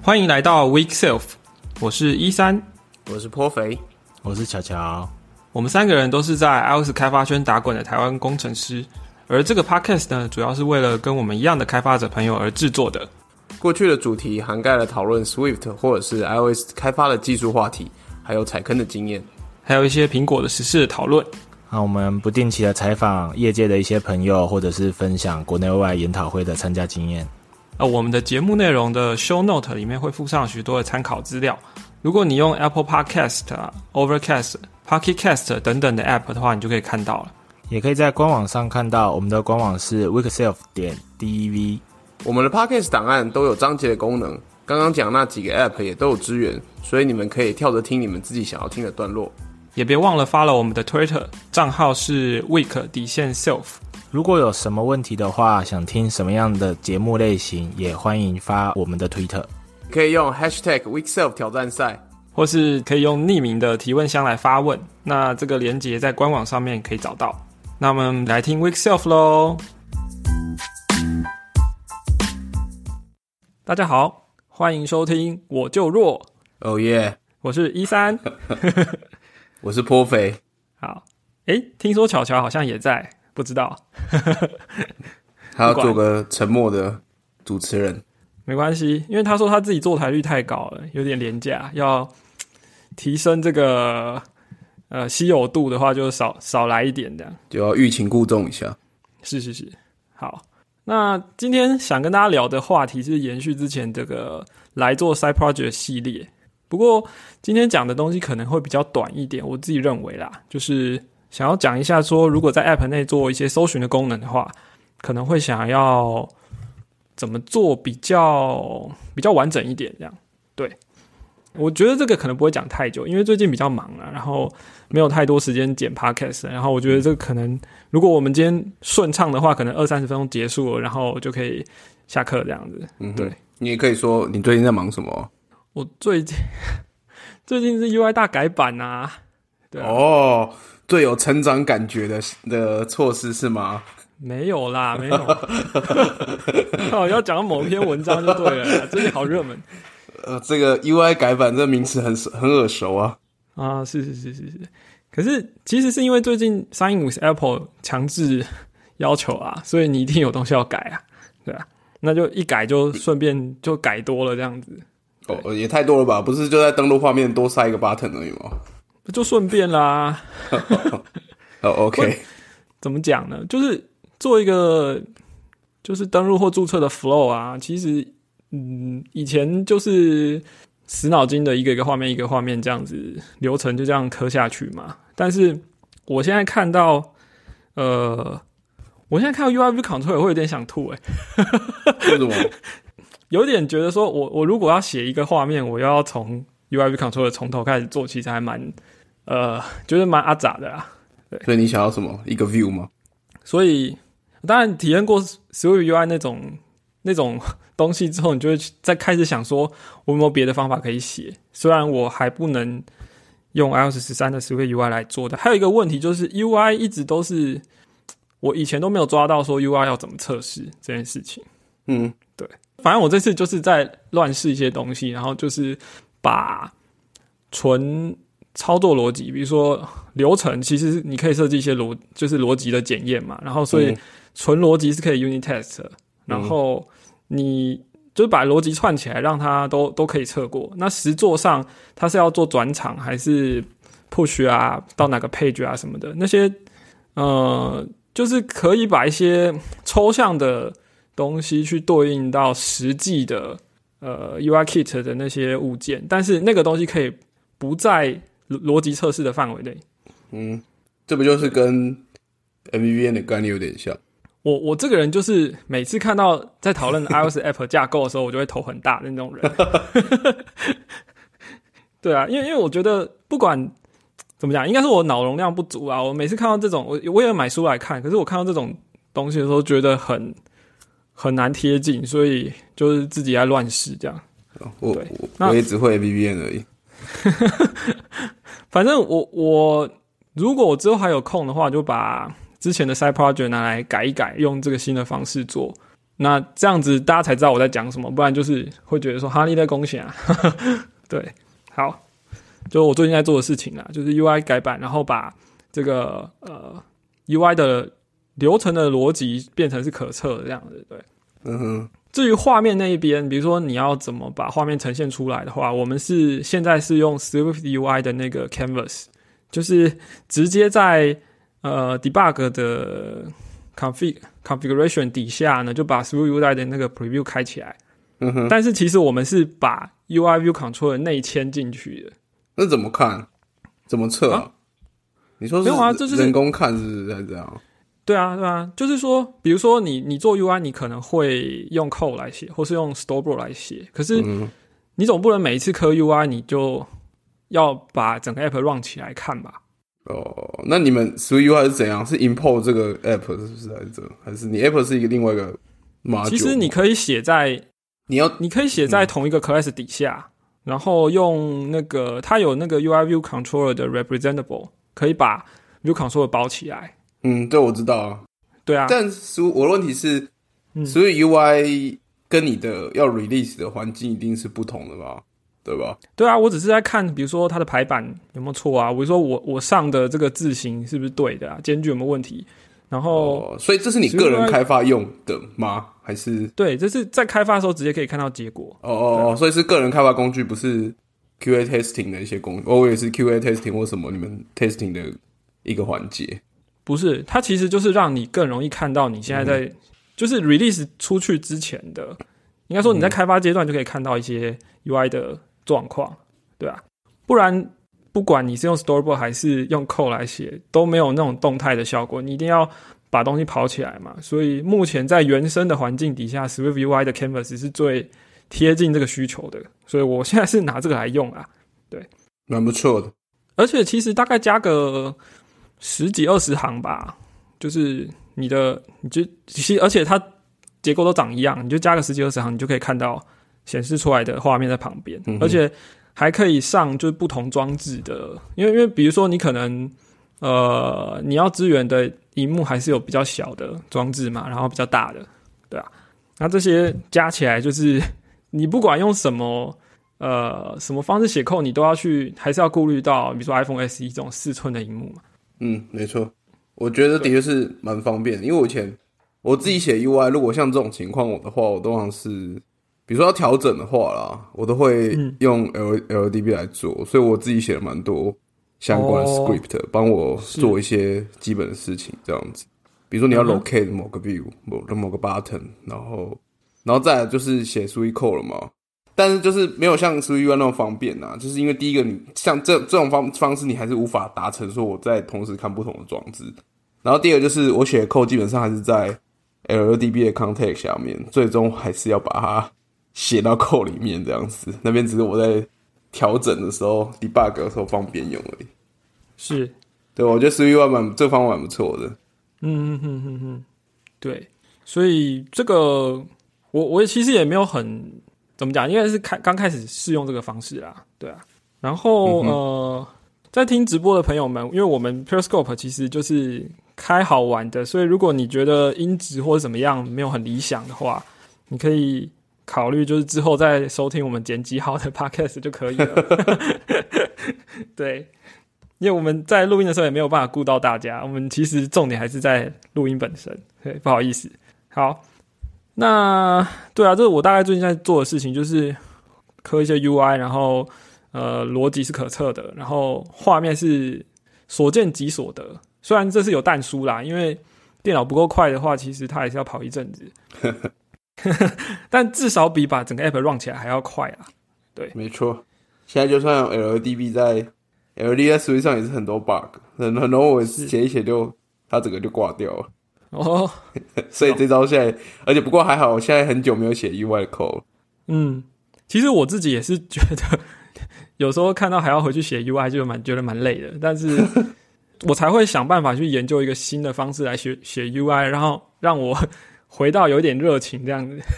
欢迎来到 Weak Self， 我是13， 我是颇肥， 我是乔乔。 我们三个人都是在 iOS 开发圈打滚的台湾工程师，而这个 podcast 呢，主要是为了跟我们一样的开发者朋友而制作的。 过去的主题涵盖了讨论 Swift 或者是 iOS 开发的技术话题，还有踩坑的经验， 还有一些苹果的时事的讨论。 那我们不定期的采访业界的一些朋友，或者是分享国内外研讨会的参加经验。 我们的节目内容的 show note 里面会附上许多的参考资料。如果你用 Apple Podcast、Overcast、Pocket Cast 等等的 app 的话，你就可以看到了。 也可以在官网上看到，我们的官网是 weakself.dev。 我们的 Podcast 档案都有章节的功能，刚刚讲那几个 app 也都有支援，所以你们可以跳着听你们自己想要听的段落。 也别忘了 follow 我们的 Twitter 账号是 weak_self。 如果有什么问题的话，想听什么样的节目类型，也欢迎发我们的 Twitter， 可以用 #weakself 挑战赛， 或是可以用匿名的提问箱来发问。那这个连结在官网上面可以找到。那我们来听 Weak Self 咯。大家好，欢迎收听我就弱。 哦耶， 我是13， 我是颇肥。 好，听说巧巧好像也在，不知道。 他要做个沉默的主持人， 没关系，因为他说他自己坐台率太高了，有点廉价，要提升这个稀有度的话，就少来一点这样， 就要欲擒故纵一下。 是，好。那今天想跟大家聊的话题是延续之前这个来做 Side Project 系列，不过今天讲的东西可能会比较短一点，我自己认为啦，就是想要讲一下说，如果在 App 内做一些搜寻的功能的话，可能会想要怎么做比较完整一点这样。对，我觉得这个可能不会讲太久，因为最近比较忙啊，然后没有太多时间剪 podcast， 然后我觉得这个可能如果我们今天顺畅的话，可能20-30分钟结束了，然后就可以下课这样子。对， 你也可以说你最近在忙什么？ 我最近是 UI 大改版啊。对啊。 哦，最有成长感觉的措施是吗？ 没有啦，没有。要讲到某篇文章就对了啦，最近好热门。 这个 UI 改版这个名词很耳熟啊。 啊，是。可是其实是因为最近 Sign with Apple 强制要求啊，所以你一定有东西要改啊，对啊，那就一改就顺便就改多了这样子。 哦，也太多了吧？不是就在登录画面多塞一个 button 而已吗？ 就顺便啦。 哦 ，OK。 怎么讲呢？就是做一个就是登录或注册的 flow 啊，其实以前就是死脑筋的一个一个画面一个画面这样子流程就这样刻下去嘛。但是我现在看到UI View Control 也会有点想吐为什么？有点觉得说我如果要写一个画面，我要从 UI View Control 从头开始做，其实还蛮觉得蛮阿杂的啦。对，所以你想要什么？一个 view 吗？ 所以当然体验过 Swift UI 那种东西之后，你就会再开始想说我有没有别的方法可以写。虽然我还不能用 iOS 13的 Swift UI 来做的。还有一个问题就是 UI 一直都是我以前都没有抓到说 UI 要怎么测试这件事情。对，反正我这次就是在乱试一些东西，然后就是把纯操作逻辑，比如说流程，其实你可以设计一些就是逻辑的检验嘛，然后所以纯逻辑是可以 unit test 的，然后你就是把逻辑串起来，让它都可以测过。那实作上它是要做转场还是 push 啊，到哪个 page 啊什么的，那些就是可以把一些抽象的东西去对应到实际的UI Kit 的那些物件，但是那个东西可以不在逻辑测试的范围内。 这不就是跟 MVVM 的概念有点像？ 我这个人就是每次看到在讨论 iOS App 架构的时候，我就会头很大的那种人。对啊，因为我觉得不管怎么讲，应该是我脑容量不足啊。我每次看到这种，我也买书来看，可是我看到这种东西的时候，觉得很难贴近，所以就是自己在乱试这样。 我也只会 MVVM 而已。 反正我如果我之后还有空的话，就把之前的 side project 拿来改一改，用这个新的方式做。 那这样子大家才知道我在讲什么，不然就是会觉得说哈利在贡献啊。对，好，就我最近在做的事情啦，就是 UI 改版，然后把这个UI 的流程的逻辑变成是可测的这样子。对， 嗯哼。 至于画面那一边，比如说你要怎么把画面呈现出来的话，我们现在是用 Swift UI 的那个 Canvas， 就是直接在debug 的 configuration 底下呢，就把 Swift UI 的那个 preview 开起来。 嗯哼。 但是其实我们是把 UI View Controller 内嵌进去的。 那怎么看？怎么测啊？你说是人工看是不是还是这样？ 对啊，就是说，比如说你做 UI， 你可能会用 code 来写，或是用 storyboard 来写，可是你总不能每一次刻 UI 你就要把整个 app run 起来看吧？ 哦，那你们 Swift UI 是怎样？是 import 这个 app 是不是还是你 app 是另外一个 module？ 其实你可以写在你可以写在同一个 class 底下，然后用那个它有那个 UI View Controller 的 representable， 可以把 View Controller 包起来。 这我知道啊。 对啊， 但我的问题是所以 UI 跟你的要 release 的环境一定是不同的吧？对吧？ 对啊，我只是在看，比如说它的排版有没有错啊？比如说我上的这个字形是不是对的啊？间距有没有问题？然后， 所以这是你个人开发用的吗？还是？ 对，这是在开发的时候直接可以看到结果。 所以是个人开发工具，不是 QA testing 的一些工具。我也是 QA testing 或什么你们 testing 的一个环节。 不是，它其实就是让你更容易看到你现在在，就是 release 出去之前的，应该说你在开发阶段就可以看到一些 UI 的状况，对啊，不然不管你是用 storyboard 还是用 code 来写，都没有那种动态的效果，你一定要把东西跑起来嘛。所以目前在原生的环境底下 Swift UI 的 Canvas 是最贴近这个需求的，所以我现在是拿这个来用啊。对， 蛮不错的。 而且其实大概加个10几20行吧，就是而且它结构都长一样，你就加个10几20行，你就可以看到显示出来的画面在旁边，而且还可以上就是不同装置的，因为比如说你可能你要支援的萤幕还是有比较小的装置嘛，然后比较大的，对啊，那这些加起来就是你不管用什么方式写code，你都要还是要顾虑到，比如说 iPhone SE 这种4寸的萤幕嘛。 没错，我觉得的确是蛮方便的，因为我以前我自己写 UI， 如果像这种情况我的话，我通常是比如说要调整的话啦，我都会用 LLDB 来做，所以我自己写了蛮多相关的 script，帮我做一些基本的事情，这样子。比如说你要 locate 某个 view， 某个 button， 然后再来就是写 Swift code 了嘛。但是就是没有像 Swift UI 那么方便啊，就是因为第一个你像这种方式你还是无法达成说我在同时看不同的装置，然后第二个就是我写的 code 基本上还是在 LLDB 的 context 下面，最终还是要把它写到 code 里面这样子，那边只是我在调整的时候 debug 的时候方便用而已。 是， 对，我觉得 Swift UI 这方法蛮不错的。 对，所以这个我其实也没有很怎么讲，因为是刚开始试用这个方式啦，对啊。然后在听直播的朋友们，因为我们 Periscope 其实就是开好玩的，所以如果你觉得音质或者怎么样没有很理想的话，你可以考虑就是之后再收听我们剪辑好的 Podcast 就可以了。对，因为我们在录音的时候也没有办法顾到大家，我们其实重点还是在录音本身。对，不好意思。好。那对啊，这是我大概最近在做的事情，就是刻一些 UI， 然后逻辑是可测的，然后画面是所见即所得。虽然这是有但书啦，因为电脑不够快的话，其实它还是要跑一阵子。但至少比把整个 app run 起来还要快啦。对， 没错。现在就算有 LLDB 在 Swift 上也是很多 bug， 很多我写一写它整个就挂掉了。所以这招现在，而且不过还好，我现在很久没有写 UI 的 code。 其实我自己也是觉得，有时候看到还要回去写 UI， 就觉得蛮累的。但是我才会想办法去研究一个新的方式来写 UI， 然后让我回到有点热情这样子。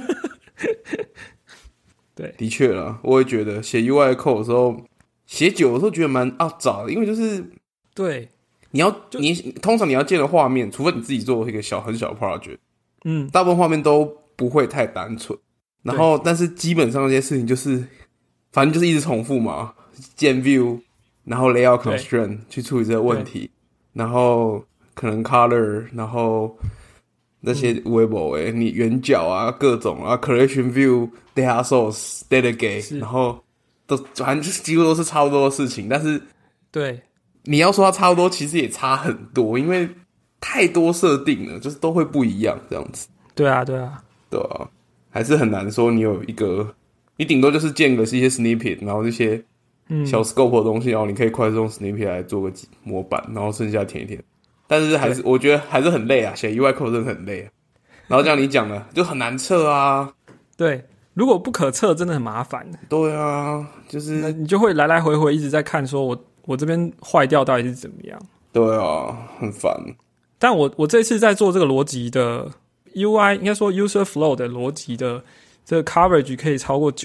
对， 的确啦，我也觉得写 UI 的 code 的时候，写久的时候觉得蛮杂的，因为就是对。 通常你要建的画面，除非你自己做一个很小的 project， 大部分画面都不会太单纯。然后，但是基本上这些事情就是，反正就是一直重复嘛，建 view， 然后 layout constraint 去处理这个问题，然后可能 color， 然后那些微博你圆角啊各种啊 collection view、data source、data gate， 然后都反正就是几乎都是差不多的事情，但是对， 你要说它差不多，其实也差很多，因为太多设定了，就是都会不一样这样子。 对啊， 还是很难说你有一个，你顶多就是建个一些 snippet， 然后这些小 scope 的东西，然后你可以快速用 snippet 来做个模板，然后剩下填一填。但是还是我觉得还是很累啊，写 UI code 真的很累啊。然后像你讲的，就很难测啊。 对，如果不可测，真的很麻烦。 对啊，就是那你就会来来回回一直在看，说我这边坏掉到底是怎么样？ 对啊，很烦。 但我这次在做这个逻辑的 UI， 应该说 user flow 的逻辑的这个 coverage 可以超过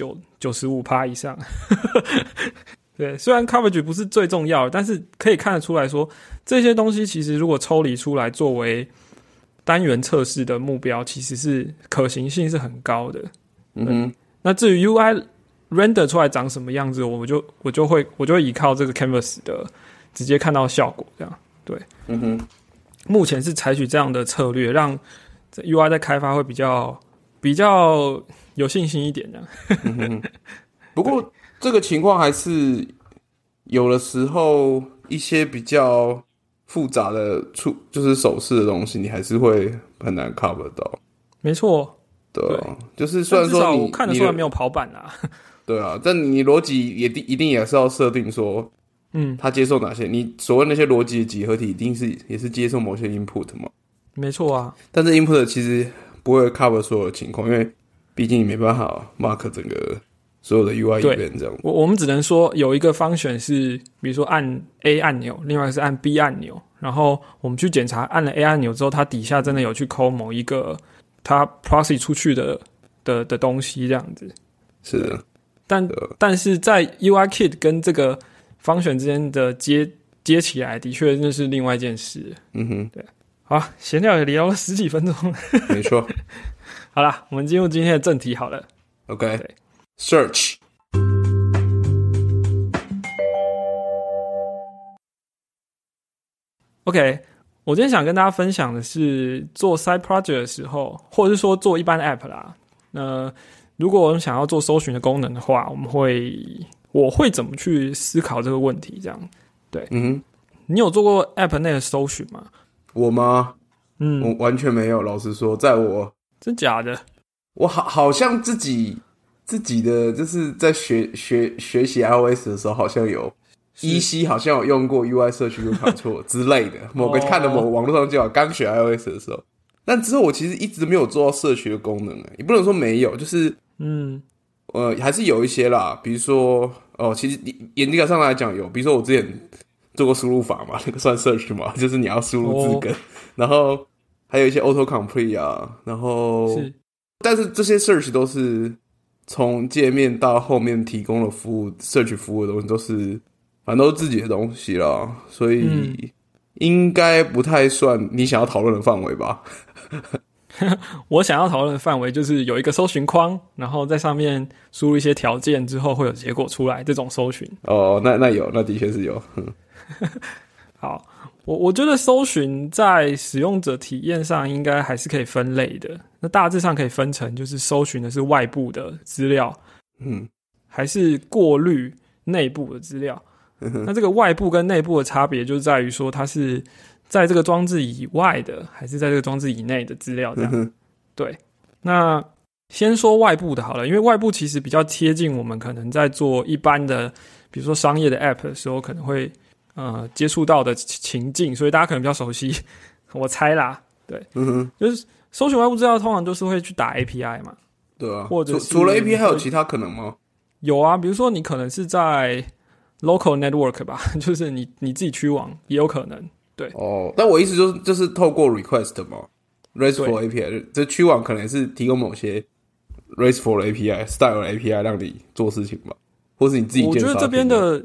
95% 以上。对，虽然 coverage 不是最重要的，但是可以看得出来说，这些东西其实如果抽离出来作为单元测试的目标，其实是可行性是很高的。那至于 UI render 出来长什么样子，我就会依靠这个 canvas 的直接看到效果，这样对。目前是采取这样的策略，让 UI 在开发会比较有信心一点这样。 不过这个情况还是有的时候一些比较复杂的就是手势的东西，你还是会很难 cover 到。 没错， 对啊，就是虽然说我看得出来没有跑板啦。 对啊，但你逻辑一定也是要设定说，它接受哪些？你所谓那些逻辑的集合体，一定是也是接受某些 input 嘛？ 没错啊，但是 input 其实不会 cover 所有的情况，因为毕竟你没办法 mark 整个所有的 UI event 这样。 我们只能说有一个function是，比如说按 A 按钮，另外一个是按 B 按钮，然后我们去检查按了 A 按钮之后，它底下真的有去 call 某一个它 proxy 出去的东西这样子。 是的。 但是在 UIKit 跟这个 function 之间的接起来，的确那是另外一件事。对。好，闲聊也聊了10几分钟。 没错。 好啦，我们进入今天的正题好了。 OK。Search。 OK， 我今天想跟大家分享的是做 side project 的时候，或者是说做一般的 app 啦。如果我们想要做搜寻的功能的话，我会怎么去思考这个问题？这样，对，你有做过 app 内的搜寻吗？ 我吗？我完全没有。老实说，在我真假的， 我好像自己的就是在学习 iOS 的时候，好像有EC 好像有用过 UI search 跟 control 之类的，看的某个网络上就好，刚学 iOS 的时候。但之后我其实一直没有做到社群的功能，也不能说没有，就是还是有一些啦，比如说其实严格上来讲有，比如说我之前做过输入法嘛，那个算 search 嘛，就是你要输入字根，然后还有一些 auto complete 啊，然后但是这些 search 都是从界面到后面提供的服务 search 服务的东西都是反正都是自己的东西啦，所以应该不太算你想要讨论的范围吧。 我想要讨论的范围就是有一个搜寻框，然后在上面输入一些条件之后会有结果出来，这种搜寻。 那有，那的确是有。 好，我觉得搜寻在使用者体验上应该还是可以分类的。那大致上可以分成，就是搜寻的是外部的资料，还是过滤内部的资料。那这个外部跟内部的差别就在于说，它是在这个装置以外的，还是在这个装置以内的资料这样。对，那先说外部的好了，因为外部其实比较贴近我们可能在做一般的，比如说商业的 app 的时候，可能会接触到的情境，所以大家可能比较熟悉。我猜啦，对，就是搜寻外部资料通常就是会去打 API 嘛， 对啊， 或者除了 API 还有其他可能吗？ 有啊，比如说你可能是在 local network 吧，就是你自己区网也有可能。对但我意思就是透过 request 嘛 ，RESTful API， 这区网可能是提供某些 RESTful API、style API 让你做事情吧，或是你自己建。 我觉得这边的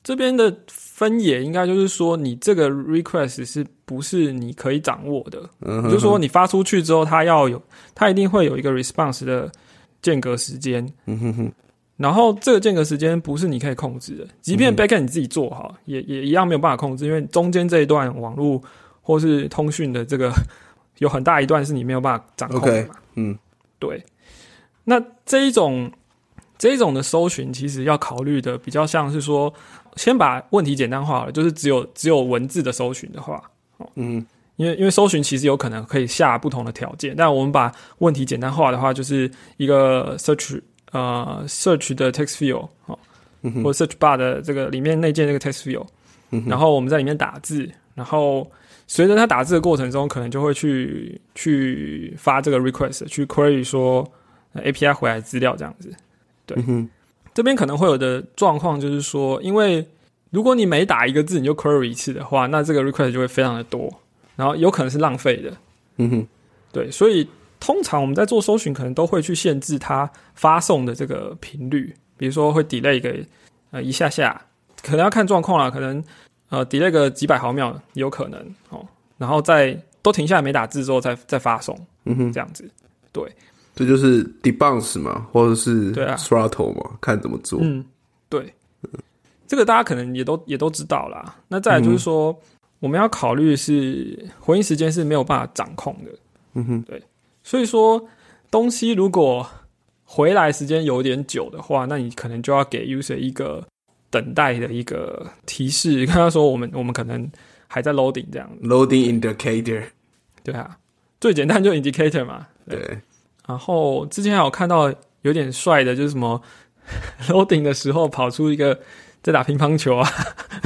这边的分野应该就是说，你这个 request 是不是你可以掌握的？就是说你发出去之后，它一定会有一个 response 的间隔时间。然后这个间隔时间不是你可以控制的，即便 backend 你自己做好，也一样没有办法控制，因为中间这一段网络或是通讯的这个有很大一段是你没有办法掌控的嘛。对。那这一种的搜寻，其实要考虑的比较像是说，先把问题简单化了，就是只有文字的搜寻的话，因为搜寻其实有可能可以下不同的条件，但我们把问题简单化的话，就是一个 search 的 text field 或者 search bar 的这个里面内建这个 text field，然后我们在里面打字，然后随着它打字的过程中，可能就会去发这个 request， 去 query 说 API 回来资料这样子。对，这边可能会有的状况就是说，因为如果你每打一个字你就 query 一次的话，那这个 request 就会非常的多，然后有可能是浪费的。对，所以通常我们在做搜寻可能都会去限制它发送的这个频率，比如说会 delay 个一下下，可能要看状况啦，可能delay 个几百毫秒也有可能哦，然后再都停下来没打字之后再发送，这样子。对， 这就是 debounce 嘛，或者是 throttle 嘛，看怎么做。 对，这个大家可能也都知道啦。那再来就是说，我们要考虑是回应时间是没有办法掌控的。对，所以说东西如果回来时间有点久的话，那你可能就要给 user 一个等待的一个提示，跟他说我们可能还在 loading 这样子。 loading indicator。对啊，最简单就 indicator 嘛。 对。 然后之前还有看到有点帅的，就是什么 loading 的时候跑出一个在打乒乓球啊。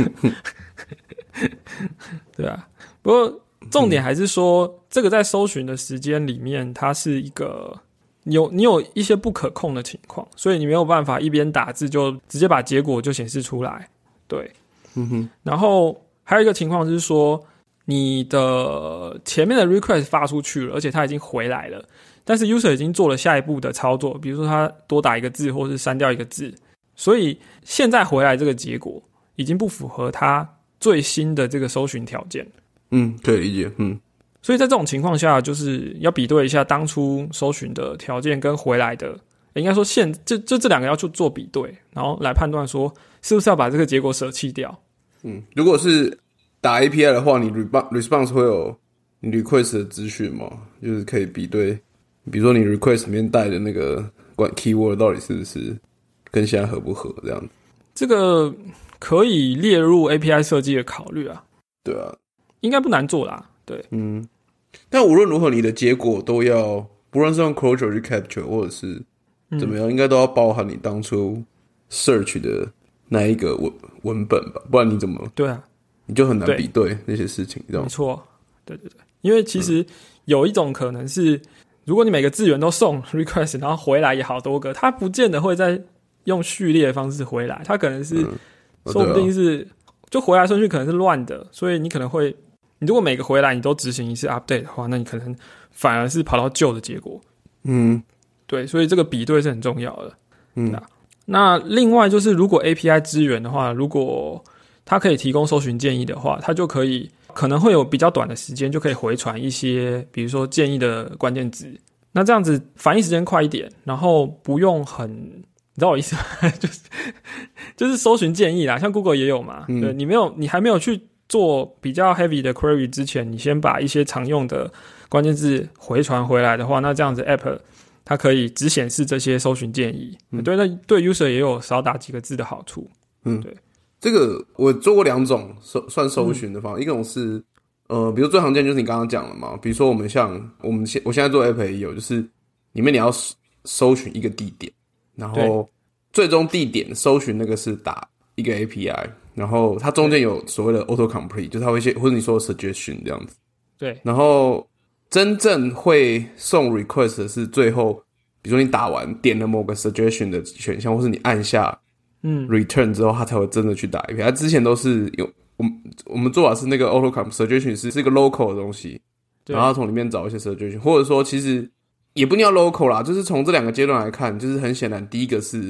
对啊，不过重点还是说，这个在搜寻的时间里面，它是一个你有一些不可控的情况，所以你没有办法一边打字就直接把结果就显示出来。对，然后还有一个情况就是说，你的前面的 request 发出去了，而且它已经回来了，但是 user 已经做了下一步的操作，比如说他多打一个字，或是删掉一个字，所以现在回来这个结果已经不符合他最新的这个搜寻条件。 可以理解。 所以在这种情况下，就是要比对一下当初搜寻的条件跟回来的，应该说这两个要去做比对，然后来判断说是不是要把这个结果舍弃掉。 如果是打 API 的话，你 response 会有你 request 的资讯吗？就是可以比对，比如说你 request 里面带的那个 keyword 到底是不是跟现在合不合这样子。这个可以列入 API 设计的考虑啊。 对啊， 应该不难做啦。对， 但无论如何，你的结果都要，不论是用 Clojure 去 capture 或者是怎么样，应该都要包含你当初 search 的那一个文本吧，不然你怎么对啊， 你就很难比对那些事情，这样没错，对，因为其实有一种可能是，如果你每个字元都送 request， 然后回来也好多个，它不见得会再用序列的方式回来，它可能是说不定是就回来顺序可能是乱的，所以你可能会。你如果每个回来你都执行一次 update 的话，那你可能反而是跑到旧的结果。对，所以这个比对是很重要的。那另外就是如果 API 支援的话，如果它可以提供搜寻建议的话，它就可能会有比较短的时间就可以回传一些比如说建议的关键字，那这样子反应时间快一点，然后不用很，你知道我意思吗？就是搜寻建议啦，像 Google 也有嘛。对，你还没有去做比较 heavy 的 query 之前，你先把一些常用的关键字回传回来的话，那这样子 app 它可以只显示这些搜寻建议。对，那对 user 也有少打几个字的好处。对， 这个我做过两种算搜寻的方法，一种是比如最常见就是你刚刚讲了嘛，比如说我现在做 app 也有，就是里面你要搜寻一个地点，然后最终地点搜寻那个是打一个 API。然后它中间有所谓的 autocomplete， 就是它会或者你说的 suggestion 这样子。 对。然后真正会送 request 的是最后，比如说你打完点了某个 suggestion 的选项，或是你按下return 之后，它才会真的去打 API。它之前都是有我们做法是那个 autocomplete suggestion 是一个 local 的东西，然后从里面找一些 suggestion， 或者说其实也不一定要 local 啦，就是从这两个阶段来看，就是很显然第一个是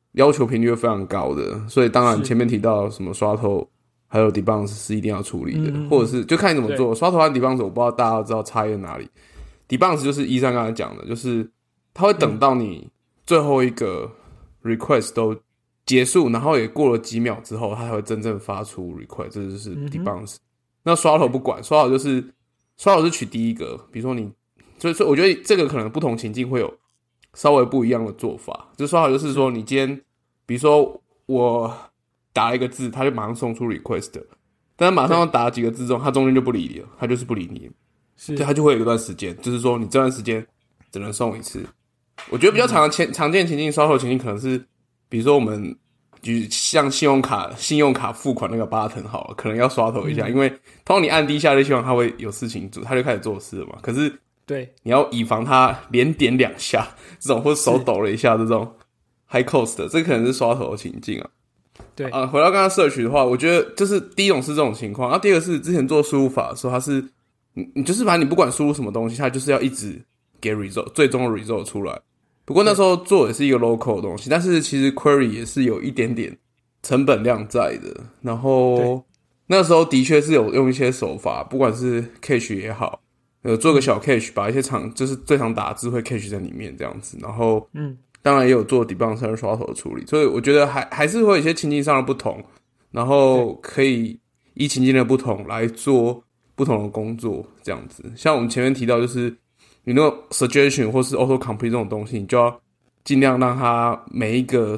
要求频率非常高的，所以当然前面提到什么刷头还有 debounce 是一定要处理的，或者是就看你怎么做。刷头和 debounce 我不知道大家知道差异在哪里。debounce 就是13刚才讲的，就是他会等到你最后一个 request 都结束，然后也过了几秒之后，他才会真正发出 request， 这就是 debounce。那刷头不管，刷头是取第一个，比如说你，所以我觉得这个可能不同情境会有稍微不一样的做法。就刷头就是说，你今天比如说我打了一个字，他就马上送出 request， 但是马上要打几个字之后，他中间就不理你了，他就是不理你，对，他就会有一段时間，就是说你这段时间只能送一次。我觉得比较常见情境，刷头情境可能是，比如说我们就像信用卡付款那个button好了，可能要刷头一下，因为通常你按第一下就希望他会有事情做，他就开始做事了嘛。可是对， 你要以防他连点2下这种，或手抖了一下这种 high cost 的，这可能是刷头的情境啊。 对回到刚刚search的话，我觉得就是第一种是这种情况，第二个是之前做输入法的时候，它是你就是把你不管输入什么东西，它就是要一直给 result 最终的 result 出来。不过那时候做的是一个 local 的东西，但是其实 query 也是有一点点成本量在的。然后那时候的确是有用一些手法，不管是 cache 也好，做个小 cache， 把一些就是最常打的字会 cache 在里面这样子。然后当然也有做 debounce 和刷头的处理，所以我觉得还是会有一些情境上的不同，然后可以依情境的不同来做不同的工作这样子。像我们前面提到，就是你那个 suggestion 或是 auto complete 这种东西，你就要尽量让它每一个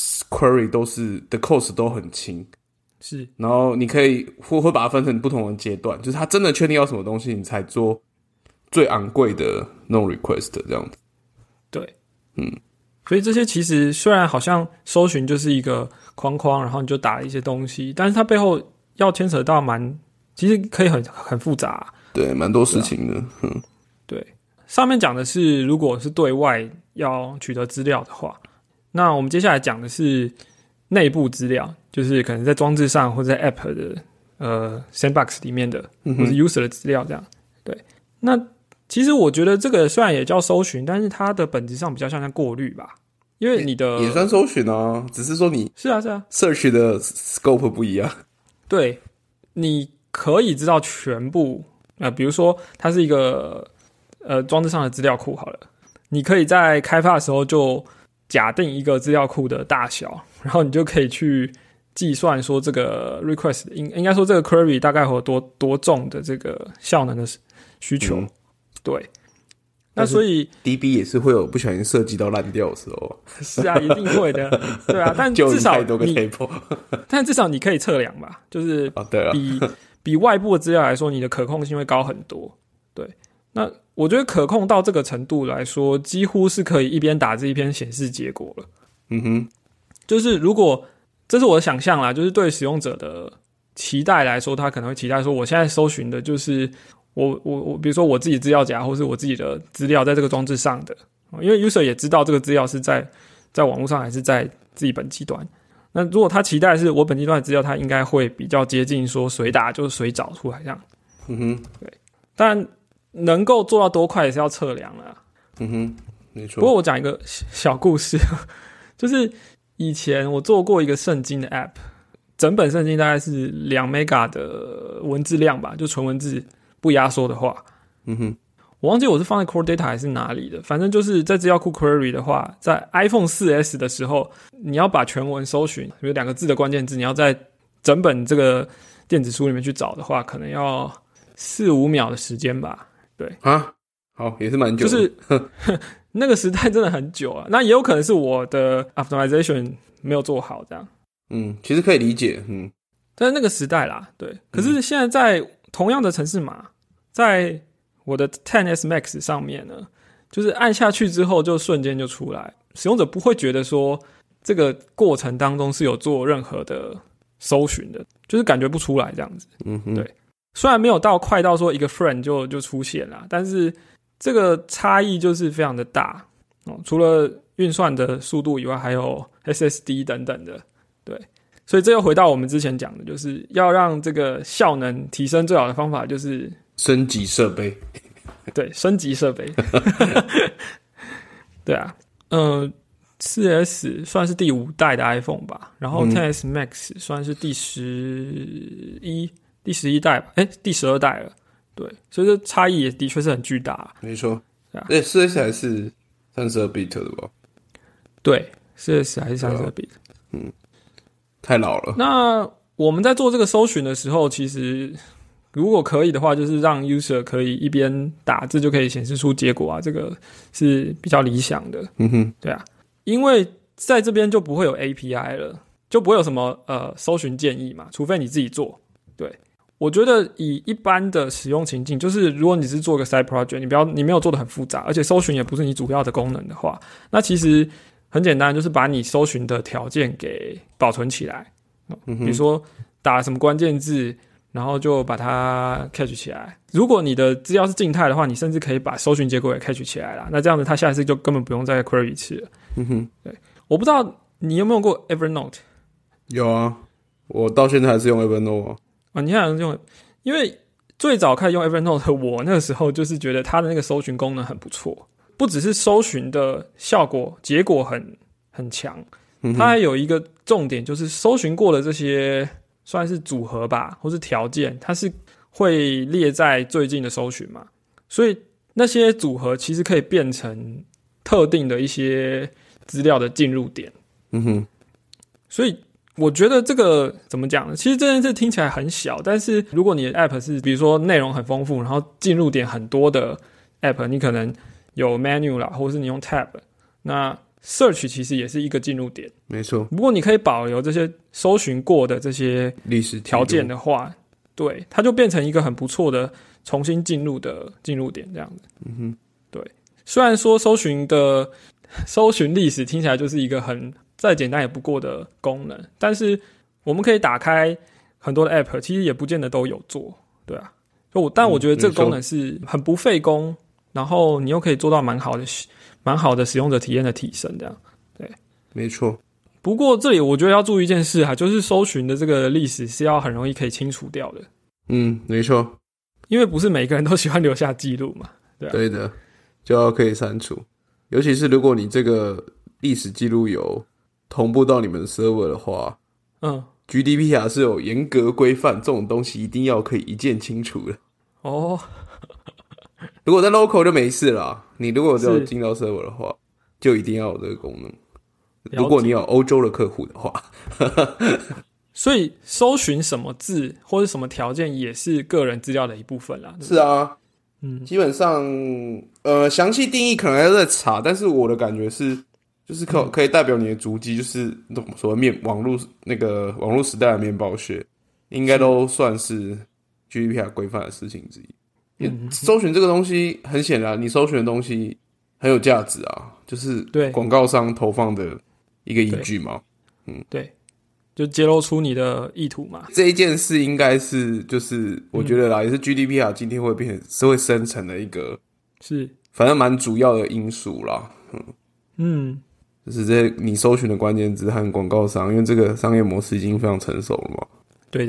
query 都是的 cost 都很轻， 是，然后你可以会把它分成不同的阶段，就是它真的确定要什么东西，你才做最昂贵的那种 request 这样子。 对，所以这些其实虽然好像搜寻就是一个框框，然后你就打了一些东西，但是它背后要牵扯到其实可以很复杂， 对，蛮多事情的。 对，上面讲的是如果是对外要取得资料的话，那我们接下来讲的是内部资料，就是可能在装置上或者在 App 的sandbox 里面的，或是 user 的资料这样。对，那其实我觉得这个虽然也叫搜寻，但是它的本质上比较像过滤吧，因为你的也算搜寻啊，只是说你是啊 search 的 scope 不一样。 对，你可以知道全部比如说它是一个装置上的资料库好了，你可以在开发的时候就假定一个资料库的大小，然后你就可以去计算说这个 request 应该说这个 query 大概会有多重的这个效能的需求。对，那所以 DB 也是会有不小心设计到烂掉的时候。 是啊，一定会的。对啊，但至少太多个 table 但至少你可以测量吧，就是对啊， 比外部的资料来说，你的可控性会高很多。对，那我觉得可控到这个程度来说，几乎是可以一边打字一边显示结果了。就是如果这是我的想象啦，就是对使用者的期待来说，他可能会期待说，我现在搜寻的就是我比如说我自己资料夹或是我自己的资料在这个装置上的，因为 user 也知道这个资料是在网络上还是在自己本机端。那如果他期待是我本机端的资料，他应该会比较接近说随打就是随找出来这样。对，但能够做到多快也是要测量啦。 没错。 不过我讲一个小故事，就是以前我做过一个圣经的 app， 整本圣经大概是2 mega 的文字量吧，就纯文字不压缩的话。我忘记我是放在 Core Data 还是哪里的，反正就是在资料库 Query 的话，在 iPhone 4S 的时候，你要把全文搜寻，比如2个字的关键字，你要在整本这个电子书里面去找的话，可能要4-5秒的时间吧。对啊，好，也是蛮久的， 就是那个时代真的很久啊。那也有可能是我的 optimization 没有做好这样。 其实可以理解。 但是那个时代啦，对。可是现在在同样的程式码，在我的 XS Max 上面呢，就是按下去之后就瞬间就出来，使用者不会觉得说这个过程当中是有做任何的搜寻的，就是感觉不出来这样子。对。虽然没有到快到说一个 frame 就出现了，但是这个差异就是非常的大。除了运算的速度以外，还有 SSD 等等的。对。所以这又回到我们之前讲的，就是要让这个效能提升最好的方法就是升级设备。对， 升级设备。对啊， 4S 算是第5代的 iPhone 吧，然后 XS Max 算是第11代吧，第12代了。对，所以这差异也的确是很巨大。 没错，对，4S 还是32bit 的吧？ 对，4S 还是32bit。 太老了。 那我们在做这个搜寻的时候，其实如果可以的话，就是让 user 可以一边打字就可以显示出结果啊，这个是比较理想的。对啊，因为在这边就不会有 API 了，就不会有什么搜寻建议嘛，除非你自己做。对，我觉得以一般的使用情境，就是如果你是做个 side project， 你没有做得很复杂，而且搜寻也不是你主要的功能的话，那其实很简单，就是把你搜寻的条件给保存起来。比如说打什么关键字，然后就把它 catch 起来。如果你的资料是静态的话，你甚至可以把搜寻结果也 catch 起来啦。那这样子，它下一次就根本不用再 query 一次了。对，我不知道你有没有用过 Evernote？ 有啊，我到现在还是用 Evernote 啊。 你还用？因为最早开始用 Evernote 的我那个时候就是觉得它的那个搜寻功能很不错，不只是搜寻的效果结果很强，它还有一个重点就是搜寻过的这些算是组合吧，或是条件，它是会列在最近的搜寻嘛，所以那些组合其实可以变成特定的一些资料的进入点。所以我觉得这个怎么讲呢？其实这件事听起来很小，但是如果你的 app 是比如说内容很丰富，然后进入点很多的 app， 你可能有 menu 啦，或者是你用 tab， 那 search 其实也是一个进入点。 没错， 如果你可以保留这些搜寻过的这些历史条件的话，对，它就变成一个很不错的重新进入的进入点这样子。对，虽然说搜寻历史听起来就是一个很再简单也不过的功能，但是我们可以打开很多的 app， 其实也不见得都有做。对啊，但我觉得这个功能是很不费工，然后你又可以做到蛮好的使用者体验的提升，这样。对， 没错。 不过这里我觉得要注意一件事就是搜寻的这个历史是要很容易可以清除掉的。 没错， 因为不是每个人都喜欢留下记录嘛。对啊， 对的，就要可以删除。尤其是如果你这个历史记录有同步到你们的 server 的话，GDPR 是有严格规范，这种东西一定要可以一键清除的。如果在 local 就没事啦，你如果只有进到 server 的话，就一定要有这个功能。如果你有欧洲的客户的话， 所以搜寻什么字或者什么条件也是个人资料的一部分啦。 是啊，基本上详细定义可能还要再查，但是我的感觉是，就是可以代表你的足迹，就是所谓网络时代的面包屑，应该都算是 GDPR 规范的事情之一。搜寻这个东西，很显然你搜寻的东西很有价值啊，就是广告商投放的一个依据嘛。 对，就揭露出你的意图嘛。 这一件事应该是就是我觉得啦，也是 GDPR 今天会变成是会生成的一个反正蛮主要的因素啦。就是这你搜寻的关键字和广告商，因为这个商业模式已经非常成熟了嘛。对。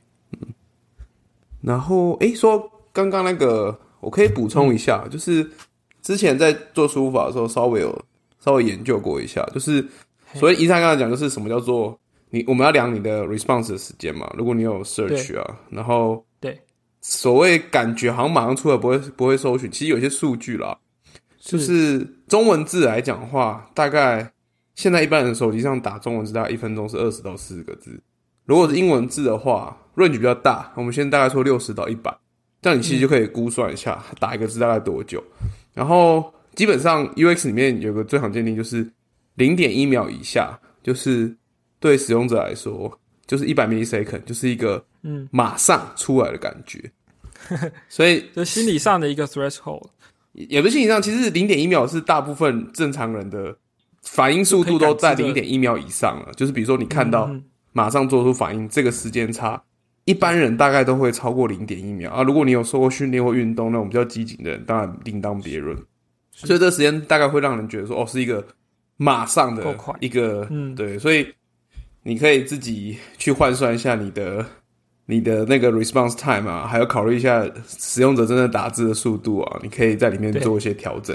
然后说刚刚那个我可以补充一下，就是之前在做输入法的时候稍微研究过一下，就是所以一上刚才讲就是什么叫做我们要量你的 response 的时间嘛，如果你有 search 啊，然后所谓感觉好像马上出来不会搜寻，其实有些数据啦，就是中文字来讲的话，大概现在一般人手机上打中文字大概1分钟是20到40个字，如果是英文字的话 range 比较大，我们先大概说60到100，这样你其实就可以估算一下打一个字大概多久。然后基本上 UX 里面有个最常见的就是 0.1 秒以下，就是对使用者来说就是100 millisecond， 就是一个马上出来的感觉。所以就心理上的一个 threshold， 也不是心理上，其实 0.1 秒是大部分正常人的反应速度都在 0.1 秒以上了，就是比如说你看到马上做出反应，这个时间差一般人大概都会超过 0.1 秒啊。如果你有受过训练或运动那种比较激进的人，当然另当别论。所以这个时间大概会让人觉得说是一个马上的一个对，所以你可以自己去换算一下你的那个 response time 啊，还有考虑一下使用者真的打字的速度啊，你可以在里面做一些调整。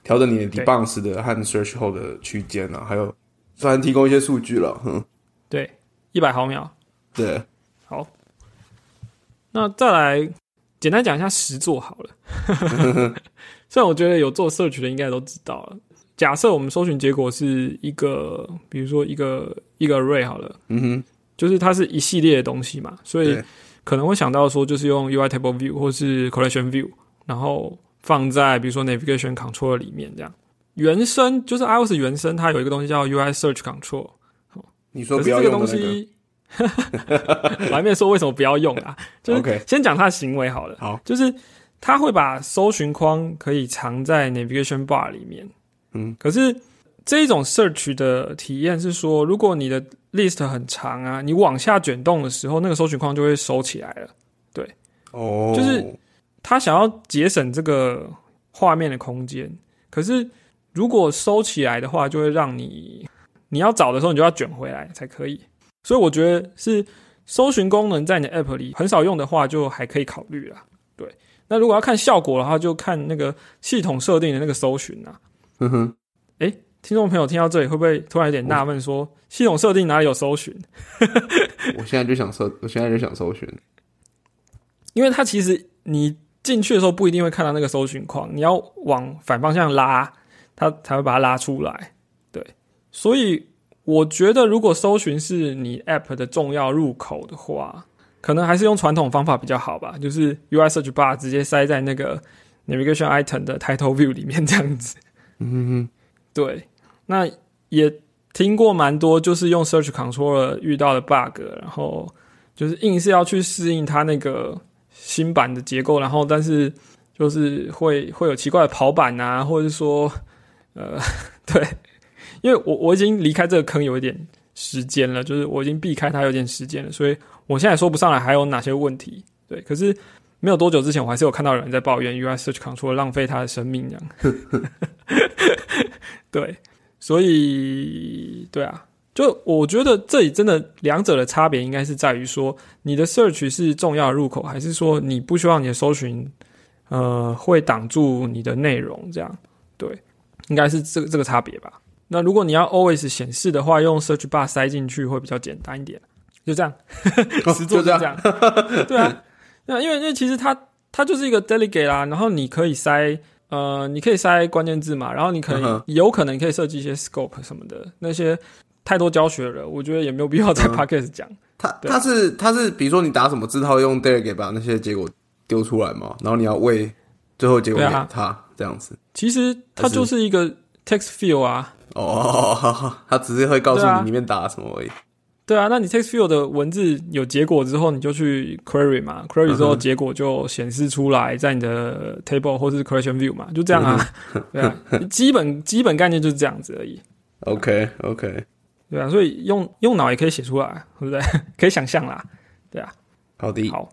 调整你的 debounce 的和 search 后的区间啊，还有虽然提供一些数据了， 对，100毫秒。 对， 好，那再来简单讲一下实作好了。虽然我觉得有做 search 的应该都知道了。假设我们搜寻结果是一个，比如说一个 array 好了，就是它是一系列的东西嘛，所以可能会想到说，就是用 UI Table View 或是 Collection View， 然后放在比如说 Navigation Controller 里面这样。原生就是 iOS 原生，它有一个东西叫 UI Search Control。 你说不要用的那个， 可是这个东西我还没说为什么不要用啊，就是先讲它的行为好了。 好， 就是它会把搜寻框可以藏在 Navigation Bar 里面。可是这一种 search 的体验是说，如果你的 list 很长啊，你往下卷动的时候，那个搜寻框就会收起来了。对，就是他想要节省这个画面的空间。可是如果收起来的话，就会让你要找的时候，你就要卷回来才可以。所以我觉得是搜寻功能在你的 app 里很少用的话，就还可以考虑啦。对，那如果要看效果的话，就看那个系统设定的那个搜寻啊。听众朋友听到这里会不会突然有点纳闷说，系统设定哪里有搜寻？ 我现在就想搜寻， 因为它其实你进去的时候不一定会看到那个搜寻框，你要往反方向拉，它才会把它拉出来。对，所以我觉得如果搜寻是你 app 的重要入口的话，可能还是用传统方法比较好吧，就是 UI Search Bar 直接塞在那个 Navigation Item 的 Title View 里面这样子。对，那也听过蛮多就是用 Search Controller 遇到的 bug， 然后就是硬是要去适应它那个新版的结构，然后但是就是会有奇怪的跑板啊，或者是说对，因为我已经离开这个坑有一点时间了，就是我已经避开它有点时间了，所以我现在说不上来还有哪些问题。对，可是没有多久之前我还是有看到有人在抱怨 UI Search Controller 浪费他的生命这样。对，所以对啊，就我觉得这里真的两者的差别应该是在于说，你的 search 是重要的入口，还是说你不希望你的搜寻会挡住你的内容这样。对，应该是这个差别吧。那如果你要 always 显示的话，用 search bar 塞进去会比较简单一点。就这样，实作就这样。对啊，因为其实它就是一个 delegate 啦，然后你可以塞关键字嘛，然后你有可能可以设计一些 scope 什么的，那些太多教学了，我觉得也没有必要在 podcast 讲。 它是比如说你打什么字，它会用 delegate 把那些结果丢出来嘛，然后你要喂最后结果给它这样子。 其实它就是一个 text field 啊。 它只是会告诉你里面打什么而已。 对啊，那你 text field 的文字有结果之后，你就去 query 嘛 ，query 之后结果就显示出来在你的 table 或是 collection view 嘛，就这样啊。对啊，基本概念就是这样子而已。 OK， 对啊，所以用脑也可以写出来，对不对？可以想象啦，对啊。 好的， 好。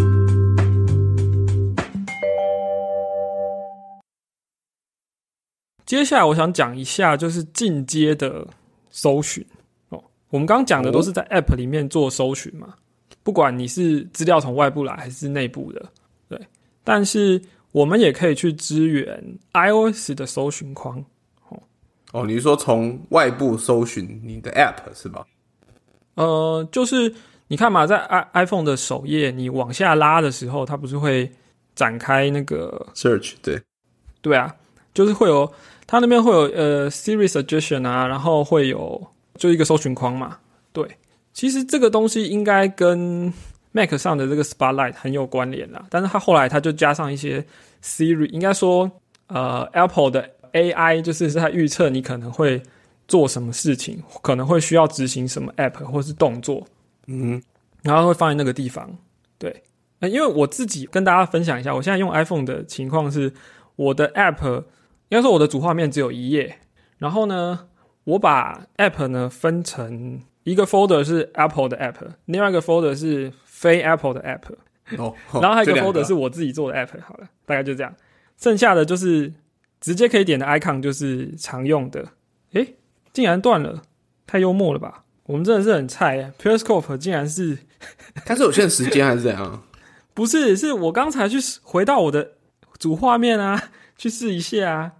接下来我想讲一下就是进阶的搜寻。我们刚刚讲的都是在 App 里面做搜寻嘛，不管你是资料从外部来还是内部的，对。但是我们也可以去支援 iOS 的搜寻框。 你是说从外部搜寻你的 App 是吧？ 就是你看嘛，在 iPhone 的首页，你往下拉的时候，它不是会展开那个 Search？ 对啊，就是会有它那边会有Siri Suggestion 啊，然后会有就一个搜寻框嘛。对，其实这个东西应该跟 Mac 上的这个 Spotlight 很有关联啦，但是它后来它就加上一些 Siri， 应该说Apple 的 AI 就是在预测你可能会做什么事情，可能会需要执行什么 App 或是动作，然后会放在那个地方。对，因为我自己跟大家分享一下，我现在用 iPhone 的情况是，我的 App 应该说我的主画面只有一页，然后呢，我把 App 呢分成一个 folder 是 Apple 的 App， 另外一个 folder 是非 Apple 的 App，然后还有一个 folder 是我自己做的 App。好了，大概就这样。剩下的就是直接可以点的 icon 就是常用的。竟然断了，太幽默了吧！我们真的是很菜耶 ，Periscope 竟然是它是有限时间还是怎样？ 不是，是我刚才去回到我的主画面啊，去试一下啊。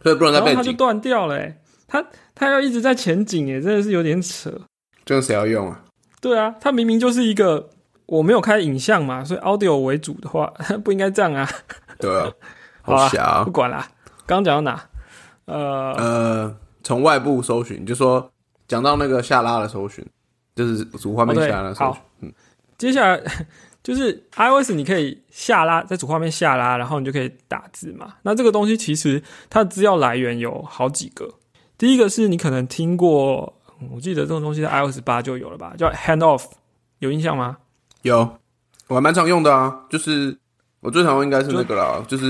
所以不能在背景， 然后它就断掉了它要一直在前景真的是有点扯。 这样谁要用啊？ 对啊，它明明就是一个我没有开影像嘛，所以 audio 为主的话不应该这样啊。 对啊，好瞎啊， 不管啦。刚刚讲到哪？ 从外部搜寻，就说讲到那个下拉的搜寻，就是主画面下拉的搜寻。 接下来就是 iOS 你可以下拉，在主画面下拉，然后你就可以打字嘛。那这个东西其实它的资料来源有好几个。第一个是你可能听过，我记得这种东西在 iOS 8就有了吧，叫 Handoff， 有印象吗？ 有，我还蛮常用的啊。就是我最常用应该是那个啦，就是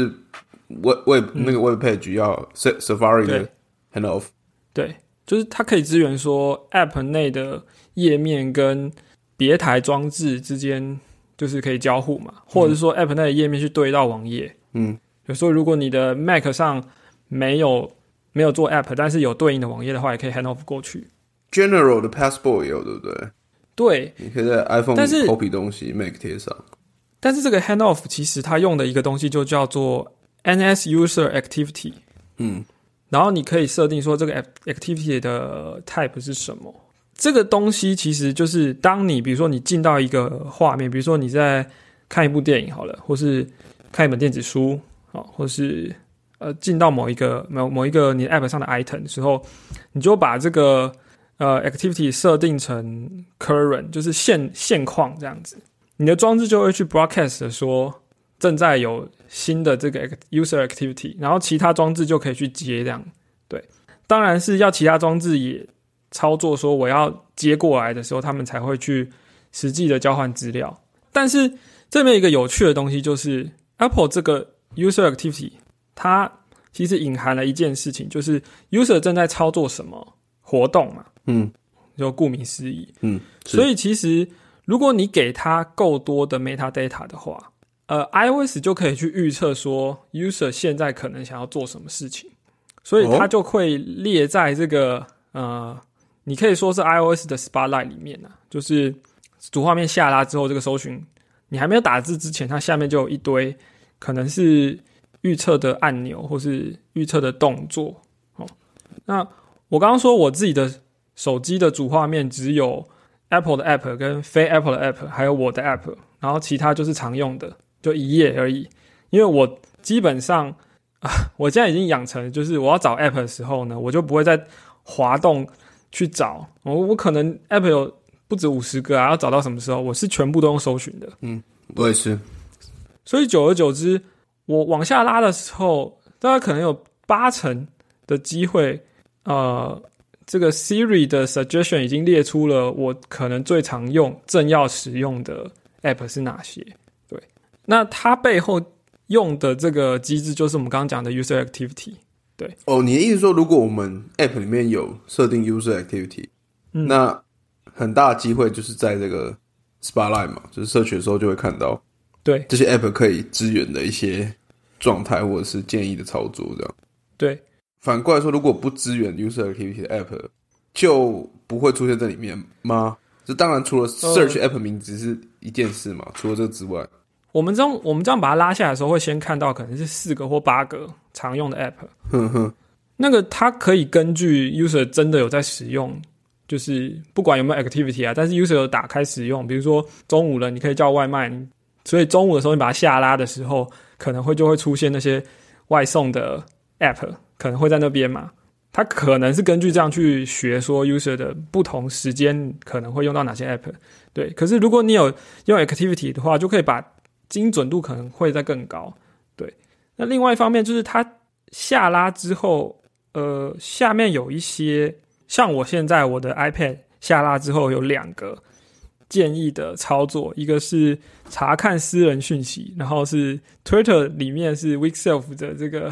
web 那个 web page 要 Safari 的 Handoff。 对，就是它可以支援说 App 内的页面跟别台装置之间就是可以交互嘛，或者是说 App 内的页面去对到网页。比如说如果你的 Mac 上没有做 App， 但是有对应的网页的话，也可以 Handoff 过去。 General 的 Passport 也有，对不对？ 对， 你可以在 iPhone copy 东西 Mac 贴上。 但是这个 Handoff 其实它用的一个东西就叫做 NS User Activity。然后你可以设定说这个 activity 的 type 是什么。这个东西其实就是当你比如说你进到一个画面，比如说你在看一部电影好了，或是看一本电子书，或是进到某一个你的 app 上的 item 的时候，你就把这个activity 设定成 current， 就是现况这样子。你的装置就会去 broadcast 说正在有新的这个 user activity， 然后其他装置就可以去接这样。对，当然是要其他装置也操作说我要接过来的时候，他们才会去实际的交换资料。但是这边一个有趣的东西就是 Apple 这个 user activity 它其实隐含了一件事情，就是 user 正在操作什么活动嘛。就顾名思义。所以其实如果你给它够多的 metadata 的话，iOS 就可以去预测说 user 现在可能想要做什么事情，所以它就会列在这个你可以说是 iOS 的 Spotlight 里面就是主画面下拉之后，这个搜寻你还没有打字之前，它下面就有一堆可能是预测的按钮或是预测的动作。那我刚刚说我自己的手机的主画面只有 Apple 的 App 跟非 Apple 的 App 还有我的 App， 然后其他就是常用的就一页而已。因为我基本上我现在已经养成就是我要找 App 的时候呢，我就不会再滑动去找，我可能 App 有不止50个要找到什么时候我是全部都用搜寻的。 我也是。 所以久而久之我往下拉的时候，大概可能有80%的机会这个 Siri 的 suggestion 已经列出了我可能最常用正要使用的 App 是哪些。对，那它背后用的这个机制就是我们刚刚讲的 user activity。对， 你的意思说如果我们 App 里面有设定 user activity，那很大的机会就是在这个 Spotlight 嘛，就是社群的时候就会看到对这些 App 可以支援的一些状态或者是建议的操作这样。 对， 反过来说，如果不支援 user activity 的 App 就不会出现在里面吗？这当然除了 search App 名字是一件事嘛，除了这个之外， 我们这样把它拉下来的时候，会先看到可能是4个或8个常用的 App。那个它可以根据 user 真的有在使用，就是不管有没有 activity 但是 user 有打开使用，比如说中午了你可以叫外卖，所以中午的时候你把它下拉的时候，可能就会出现那些外送的 App 可能会在那边嘛。它可能是根据这样去学说 user 的不同时间可能会用到哪些 App。对，可是如果你有用 activity 的话，就可以把精准度可能会再更高。对，那另外一方面就是它下拉之后下面有一些像我现在我的 iPad 下拉之后有2个建议的操作，一个是查看私人讯息，然后是 Twitter 里面是 Weekself 的这个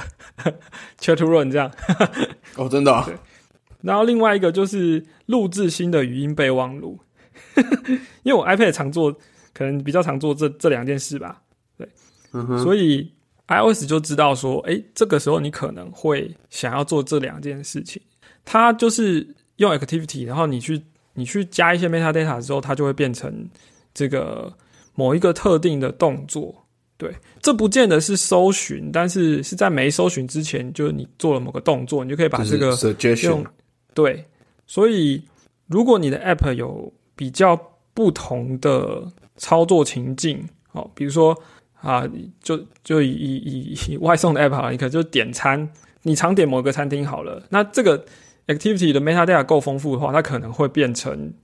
chat room 这样。 真的对，然后另外一个就是录制新的语音备忘录。因为我 iPad 常做，可能比较常做这2件事吧。对，所以 iOS 就知道说这个时候你可能会想要做这2件事情。它就是用 activity， 然后你去加一些 metadata 之后，它就会变成这个某一个特定的动作。 对，这不见得是搜寻，但是是在没搜寻之前，就是你做了某个动作，你就可以把这个用 suggestion。 对， 所以如果你的 app 有比较不同的操作情境，比如说就以外送的 app 好了，你可能就点餐，你常点某个餐厅好了，那这个 activity 的 metadata 够丰富的话，它可能会变成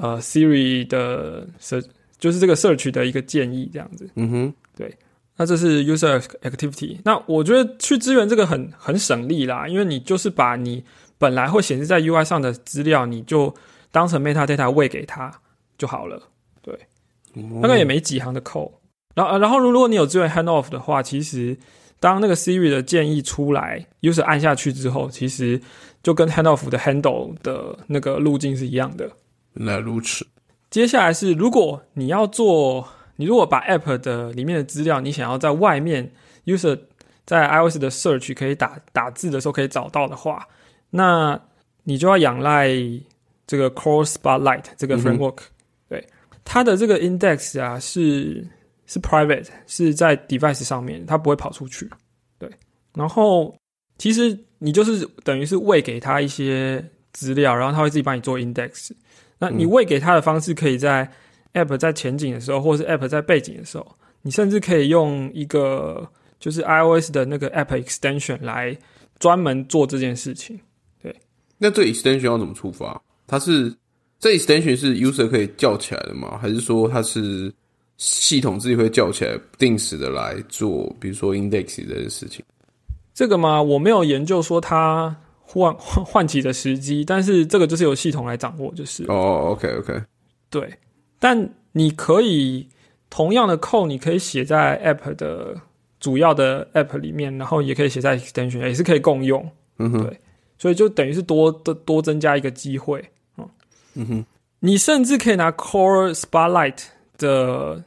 Siri 的就是这个 search 的一个建议这样子。对，那这是 user activity。那我觉得去支援这个很省力啦，因为你就是把你本来会显示在 UI 上的资料，你就当成 metadata 喂给它就好了。对，大概也没几行的 code。然后如果你有支援 handoff 的话，其实当那个 Siri 的建议出来 ，user 按下去之后，其实就跟 handoff 的 handle 的那个路径是一样的。 原来如此。 接下来是，如果你如果把 app 的里面的资料，你想要在外面 user 在 iOS 的 search 可以打字的时候可以找到的话，那你就要仰赖这个 Core Spotlight 这个 framework。对，它的这个 index 啊是 private， 是在 device 上面，它不会跑出去。对，然后其实你就是等于是喂给它一些资料，然后它会自己帮你做 index。那你喂给它的方式可以在 app 在前景的时候，或是 app 在背景的时候，你甚至可以用一个就是 iOS 的那个 app extension 来专门做这件事情。对， 那这 extension 要怎么触发？这 extension 是 user 可以叫起来的吗？还是说它是系统自己会叫起来，不定时的来做，比如说 index 这件事情？ 这个嘛，我没有研究说它唤起的时机，但是这个就是由系统来掌握，就是。 OK。 对，但你可以同样的 code 你可以写在 app 的主要的 app 里面，然后也可以写在 extension， 也是可以共用。对，所以就等于是多增加一个机会。你甚至可以拿 Core Spotlight 的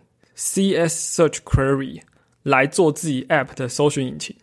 CS Search Query 来做自己 app 的搜寻引擎。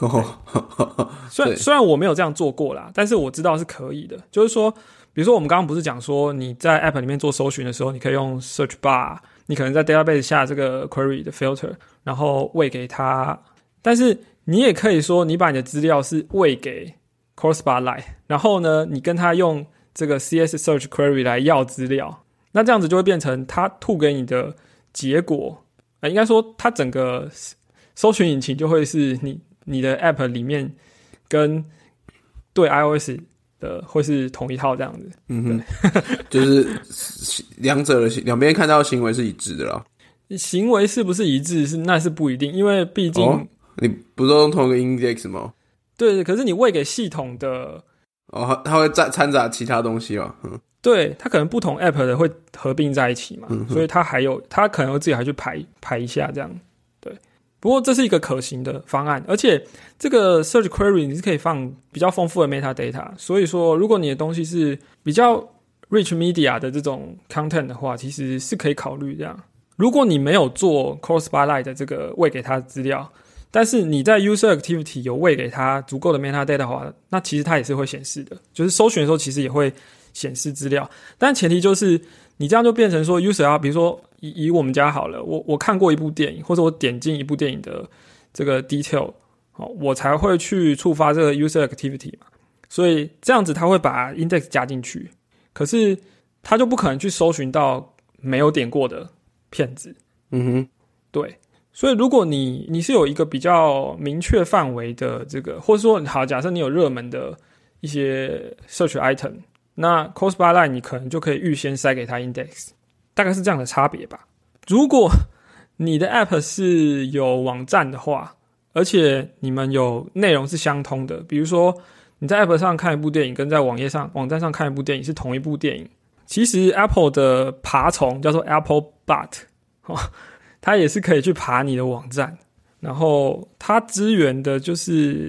虽然我没有这样做过啦，但是我知道是可以的。就是说，比如说我们刚刚不是讲说你在 app 里面做搜寻的时候，你可以用 search bar， 你可能在 database 下这个 query 的 filter， 然后喂给它。但是你也可以说，你把你的资料是喂给 Core Spotlight， 然后呢，你跟他用这个 CS Search Query 来要资料，那这样子就会变成他吐给你的结果，应该说他整个搜寻引擎就会是你的 app 里面跟对 iOS 的会是同一套这样子。 就是两边看到的行为是一致的啦。 行为是不是一致那是不一定，因为毕竟你不是用同一个 index 吗？ 对，可是你喂给系统的它会掺杂其他东西嘛。 对，它可能不同 app 的会合并在一起嘛，所以它可能会自己还去排一下这样。对，不过这是一个可行的方案，而且这个 search query 你是可以放比较丰富的 metadata， 所以说如果你的东西是比较 rich media 的这种 content 的话，其实是可以考虑这样。如果你没有做 Core Spotlight 的这个喂给它的资料，但是你在 user activity 有喂给它足够的 metadata 的话，那其实它也是会显示的，就是搜寻的时候其实也会显示资料，但前提就是你这样就变成说 user 要，比如说以我们家好了，我看过一部电影，或者我点进一部电影的这个 detail，我才会去触发这个 user activity 嘛，所以这样子他会把 index 加进去，可是他就不可能去搜寻到没有点过的片子。对。所以如果你是有一个比较明确范围的这个，或者说好，假设你有热门的一些 search item， 那 Core Spotlight 你可能就可以预先塞给它 index， 大概是这样的差别吧。如果你的 app 是有网站的话，而且你们有内容是相通的，比如说你在 app 上看一部电影，跟在网站上看一部电影是同一部电影，其实 Apple 的爬虫叫做 Apple Bot，它也是可以去爬你的网站，然后它支援的就是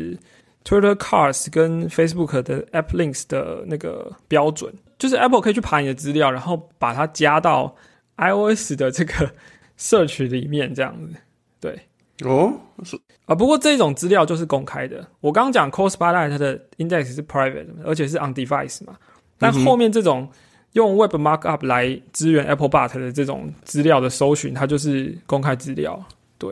Twitter Cars 跟 Facebook 的 App Links 的那个标准，就是 Apple 可以去爬你的资料，然后把它加到 iOS 的这个 Search 里面这样子。对，不过这种资料就是公开的。我刚刚讲 Core Spotlight 它的 Index 是 Private， 而且是 on device 嘛，但后面这种用 Web Markup 来支援 Apple Bot 的这种资料的搜寻，它就是公开资料。对，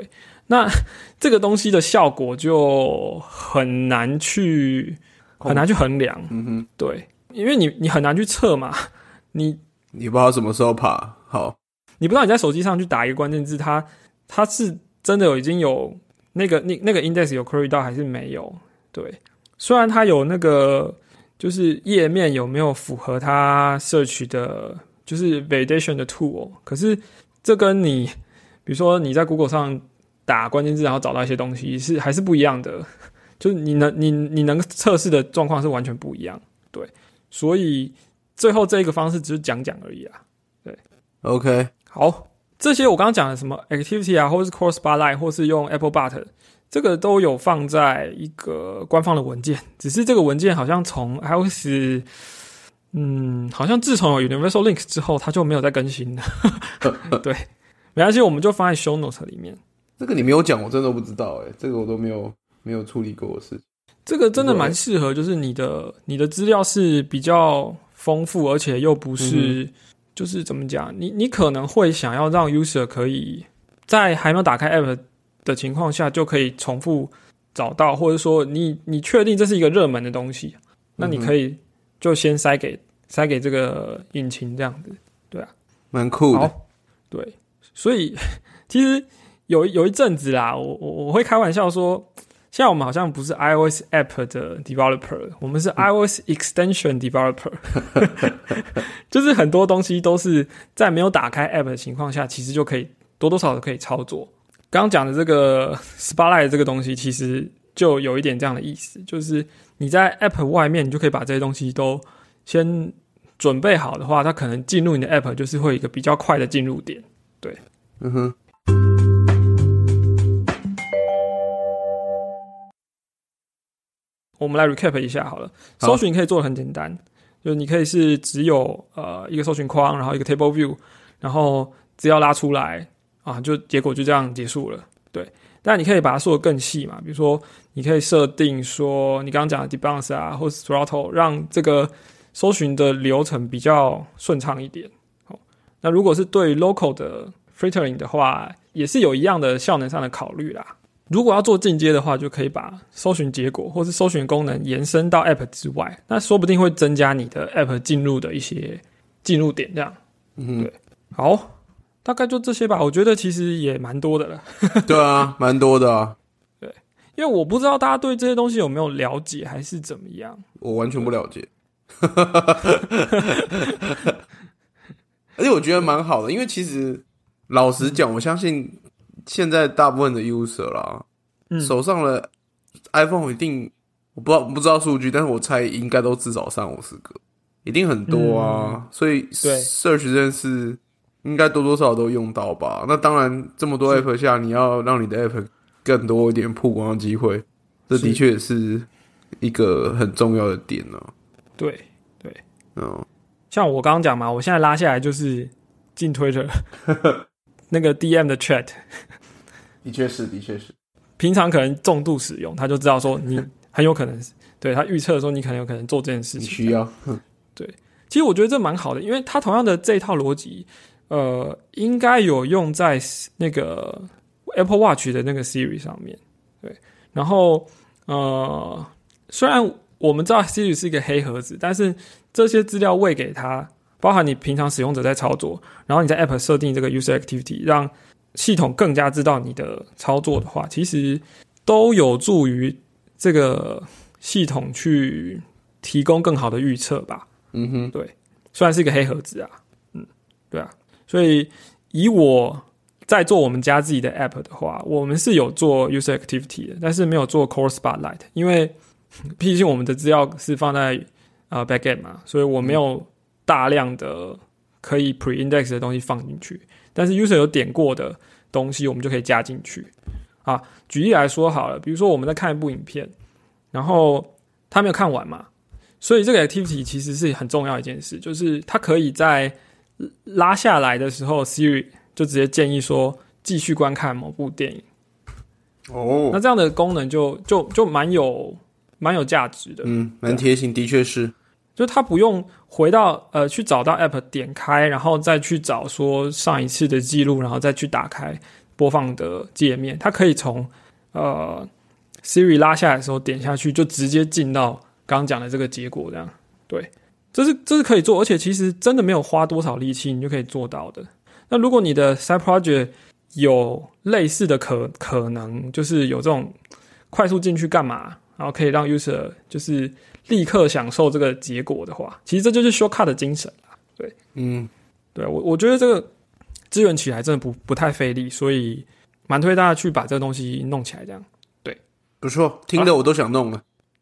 那这个东西的效果就很难去衡量。对，因为你很难去测嘛，你不知道什么时候爬好， 你不知道你在手机上去打一个关键字，它是真的已经有那个 index 有 query 到还是没有？对，虽然它有那个就是页面有没有符合它 search 的，就是 validation 的 tool， 可是这跟你比如说你在 Google 上打关键字然后找到一些东西还是不一样的，就是你能测试的状况是完全不一样。对，所以最后这个方式只是讲而已啦。对 ，OK， 好，这些我刚刚讲的什么 activity 啊，或是 core spotlight， 或是用 Apple Bot， 这个都有放在一个官方的文件，只是这个文件好像从 iOS， 好像自从有 Universal Link 之后，它就没有再更新了。对，没关系，我们就放在 Show Notes 里面。 这个你没有讲，我真的不知道这个我都没有处理过的事情。 这个真的蛮适合，就是你的资料是比较丰富，而且又不是，就是怎么讲，你可能会想要让 user 可以在还没有打开 app 的情况下就可以重复找到，或者说你确定这是一个热门的东西，那你可以就先塞给这个引擎这样子，对啊， 蛮酷的。 好，对，所以其实有一阵子啦，我会开玩笑说，现在我们好像不是 iOS app 的 developer， 我们是 iOS extension developer， 就是很多东西都是在没有打开 app 的情况下，其实就可以多多少少可以操作。刚刚讲的这个 Spotlight 这个东西，其实就有一点这样的意思，就是你在 app 外面，你就可以把这些东西都先准备好的话，它可能进入你的 app 就是会有一个比较快的进入点。对，我们来 recap 一下好了。搜寻可以做得很简单，就是你可以是只有一个搜寻框，然后一个 table view， 然后资料拉出来啊，就结果就这样结束了。对，但你可以把它做得更细嘛，比如说你可以设定说你刚刚讲的 debounce 啊，或是 throttle， 让这个搜寻的流程比较顺畅一点。那如果是对 local 的 filtering 的话，也是有一样的效能上的考虑啦。如果要做进阶的话，就可以把搜寻结果或是搜寻功能延伸到 App 之外，那说不定会增加你的 App 进入的一些进入点，这样。对，好，大概就这些吧。我觉得其实也蛮多的了。 对啊，蛮多的啊。 对，因为我不知道大家对这些东西有没有了解，还是怎么样。 我完全不了解。而且我觉得蛮好的，因为其实老实讲，我相信现在大部分的 user 啦，手上的 iPhone 一定我不知道数据，但是我猜应该都至少350个，一定很多啊。所以 search 这件事应该多多少少都用到吧。那当然，这么多 app 下，你要让你的 app 更多一点曝光的机会，这的确也是一个很重要的点呢。 对，像我刚刚讲嘛，我现在拉下来就是进 Twitter 那个 DM 的 chat， 的确是。 平常可能重度使用，他就知道说你很有可能对他预测说你可能有可能做这件事情， 你需要。 对，其实我觉得这蛮好的，因为他同样的这一套逻辑，应该有用在那个 Apple Watch 的那个 Siri 上面。对，然后虽然我们知道 Siri 是一个黑盒子，但是这些资料喂给他，包含你平常使用者在操作，然后你在 App 设定这个 User Activity， 让系统更加知道你的操作的话，其实都有助于这个系统去提供更好的预测吧。对，虽然是一个黑盒子啊，对啊，所以以我在做我们家自己的 App 的话，我们是有做 User Activity 的，但是没有做 Core Spotlight， 因为毕竟我们的资料是放在backend 嘛，所以我没有大量的可以 pre-index 的东西放进去，但是 user 有点过的东西我们就可以加进去啊。举例来说好了，比如说我们在看一部影片，然后他没有看完嘛，所以这个 activity 其实是很重要的一件事，就是他可以在拉下来的时候 Siri 就直接建议说继续观看某部电影。那这样的功能就蛮有价值的， 蛮贴心，的确是。 就他不用回到去找到 app 点开，然后再去找说上一次的记录，然后再去打开， 播放的界面，它可以从Siri 拉下来的时候点下去，就直接进到刚刚讲的这个结果，这样对，这是可以做，而且其实真的没有花多少力气，你就可以做到的。那如果你的 side project 有类似的可能，就是有这种快速进去干嘛，然后可以让 user 就是立刻享受这个结果的话，其实这就是 shortcut 的精神啦。对，对，我觉得这个支援起来真的不太费力，所以蛮推大家去把这个东西弄起来，这样对， 不错，听得我都想弄了。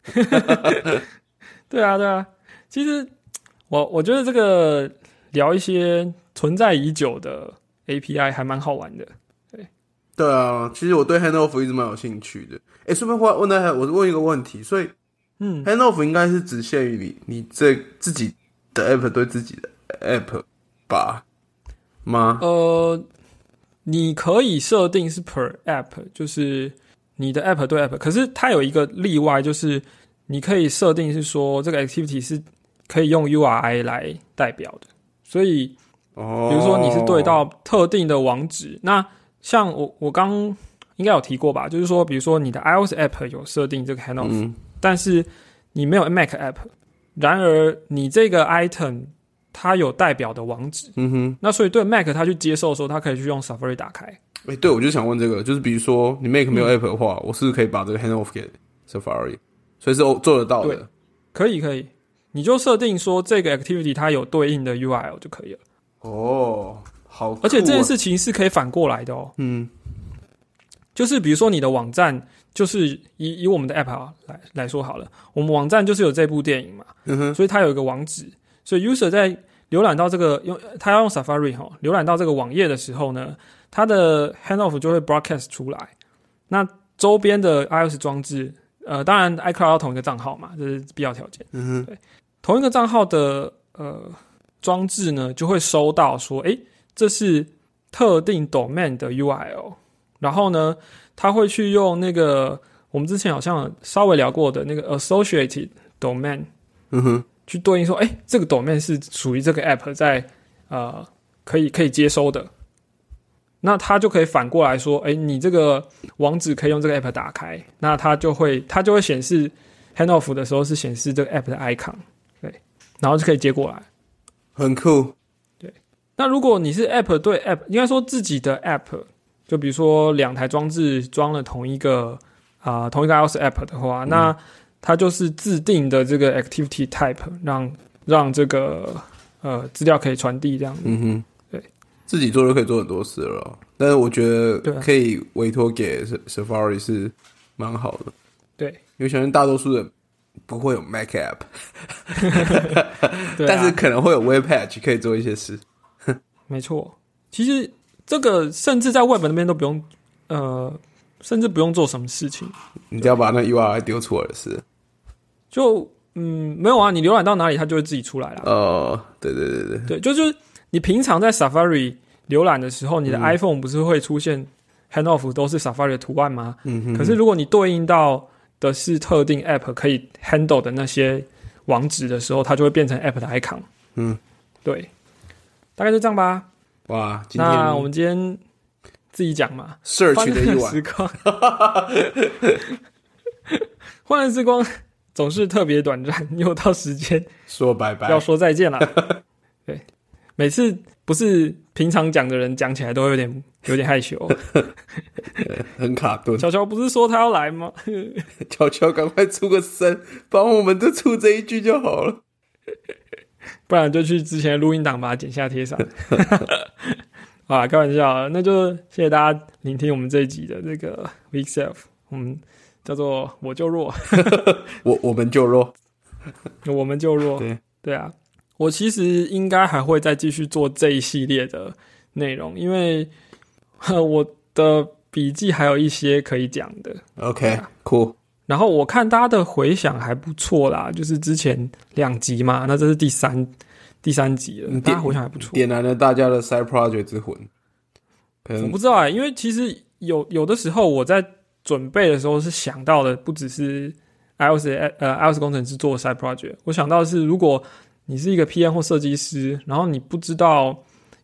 对啊，其实我觉得这个聊一些存在已久的 API 还蛮好玩的。 对啊，其实我对 handoff 一直蛮有兴趣的。顺便我问一个问题，所以handoff 应该是只限于你这自己的 app 对自己的 app 吧吗？ 你可以设定是 per app， 就是你的 app 对 app， 可是它有一个例外，就是你可以设定是说这个 activity 是可以用 URI 来代表的，所以比如说你是对到特定的网址，那像我刚应该有提过吧，就是说比如说你的 iOS app 有设定这个 handoff，但是你没有 Mac app， 然而你这个 item 它有代表的网址，那所以对 Mac 它去接受的时候，它可以去用 Safari 打开。 对，我就想问这个，就是比如说你 Mac 没有 app 的话，我是不是可以把这个 handoff 给 Safari， 所以是做得到的。 对，可以，你就设定说这个 activity 它有对应的 URL 就可以了。 好酷啊， 而且这件事情是可以反过来的哦。就是比如说你的网站，就是以我们的 app 来说好了，我们网站就是有这部电影嘛，所以它有一个网址，所以 user 在浏览到这个他要用 Safari 浏览到这个网页的时候呢，它的 handoff 就会 broadcast 出来。那周边的 iOS 装置，当然 iCloud 要同一个账号嘛，这是必要条件。对，同一个账号的装置呢，就会收到说，这是特定 domain 的 URL， 然后呢，他会去用那个我们之前好像稍微聊过的那个 associated domain，去对应说，这个 domain 是属于这个 app 在可以接收的，那他就可以反过来说，你这个网址可以用这个 app 打开，那它就会显示 handoff 的时候是显示这个 app 的 icon， 对，然后就可以接过来， 很酷。 对，那如果你是 app 对 app， 应该说自己的 app， 就比如说两台装置装了同一个 iOS app 的话，那它就是自定的这个 activity type， 让这个资料可以传递这样子。对， 自己做就可以做很多事了，但是我觉得可以委托给 Safari 是蛮好的。对，因为相信大多数人不会有 Mac app， 但是可能会有 Web Page 可以做一些事。 没错，其实这个甚至在 Web 那边都不用，甚至不用做什么事情， 你只要把那 URI 丢出来的事。 就没有啊，你浏览到哪里它就会自己出来了。对，就是你平常在 Safari 浏览的时候，你的 iPhone 不是会出现 handoff 都是 Safari 的图案吗？可是如果你对应到的是特定 app 可以 handle 的那些网址的时候，它就会变成 app 的 icon。对，大概就这样吧。 哇， 那我们今天自己讲嘛 ，search 的一晚时光，欢乐时光总是特别短暂，又到时间说拜拜， 要说再见了。对，每次不是平常讲的人讲起来都会有点害羞， 很卡顿。 乔乔不是说他要来吗？ 乔乔赶快出个声，帮我们就出这一句就好了， 不然就去之前的录音档把它剪下贴上。啊，开玩笑，那就谢谢大家聆听我们这一集的这个 Week Self， 我们叫做我就弱， 我们就弱， 我们就弱，对啊，我其实应该还会再继续做这一系列的内容，因为我的笔记还有一些可以讲的。 OK， cool。 然后我看大家的回响还不错啦，就是之前2集嘛，那这是第三集了，大家回响还不错， 点燃了大家的 side project 之魂。 我不知道因为其实有的时候我在准备的时候是想到的不只是 iOS 工程师做的 side project， 我想到的是如果你是一个 PM 或设计师，然后你不知道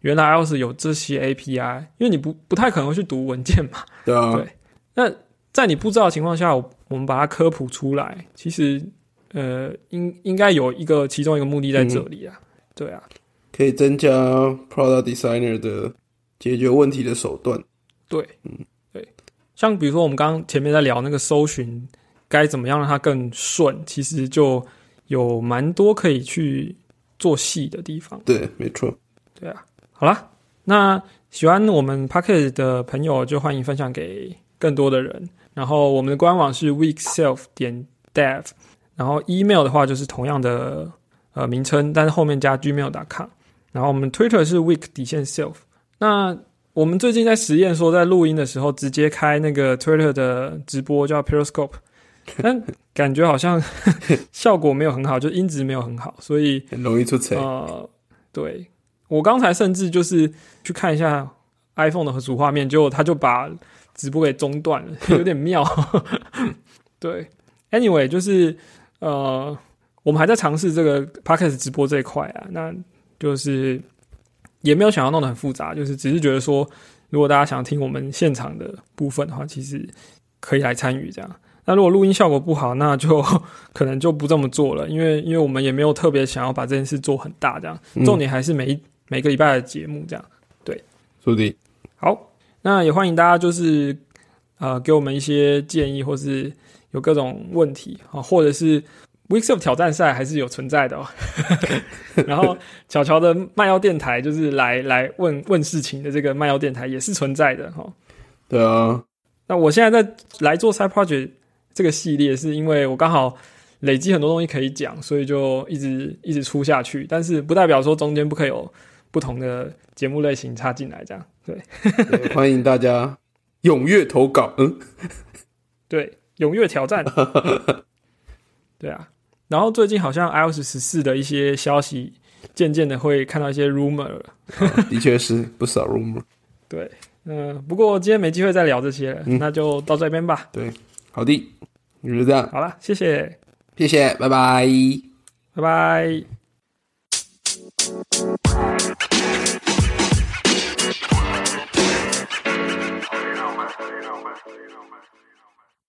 原来 iOS 有这些 API， 因为你不太可能会去读文件嘛。 对啊。 对，那在你不知道的情况下，我们把它科普出来，其实应该有其中一个目的在这里啊。对啊， 可以增加 Product Designer 的解决问题的手段。 对，对，像比如说我们刚刚前面在聊那个搜寻该怎么样让它更顺，其实就有蛮多可以去做细的地方。 对，没错。 对啊，好啦，那喜欢我们 Podcast 的朋友就欢迎分享给更多的人。然后我们的官网是 weekself.dev， 然后 email 的话就是同样的名称，但是后面加 gmail.com。然后我们 Twitter 是 week_self。那我们最近在实验说，在录音的时候直接开那个 Twitter 的直播叫 Periscope， 但感觉好像效果没有很好，就音质没有很好，所以很容易出错。 对，我刚才甚至就是去看一下 iPhone 的主画面，结果他就把直播给中断了，有点妙。对 ，anyway 就是我们还在尝试这个 Podcast 直播这一块啊，那就是也没有想要弄得很复杂，就是只是觉得说，如果大家想听我们现场的部分的话，其实可以来参与这样。那如果录音效果不好，那就可能就不这么做了，因为我们也没有特别想要把这件事做很大这样，重点还是每个礼拜的节目这样。对， 是的。 好，那也欢迎大家就是给我们一些建议，或是有各种问题啊，或者是 Weekself 挑战赛还是有存在的哦。然后巧巧的卖药电台就是来问事情的这个卖药电台也是存在的哦。 对啊。 那我现在在来做 Side Project 这个系列，是因为我刚好累积很多东西可以讲，所以就一直出下去。但是不代表说中间不可以有不同的节目类型插进来，这样对。 对，欢迎大家踊跃投稿。 对，踊跃挑战。对啊，然后最近好像 iOS 14的一些消息，渐渐的会看到一些 rumor 了。 的确是不少 rumor。 对，不过今天没机会再聊这些了，那就到这边吧。 对，好的，就是这样。 好啦，谢谢， 谢谢，拜拜， 拜拜。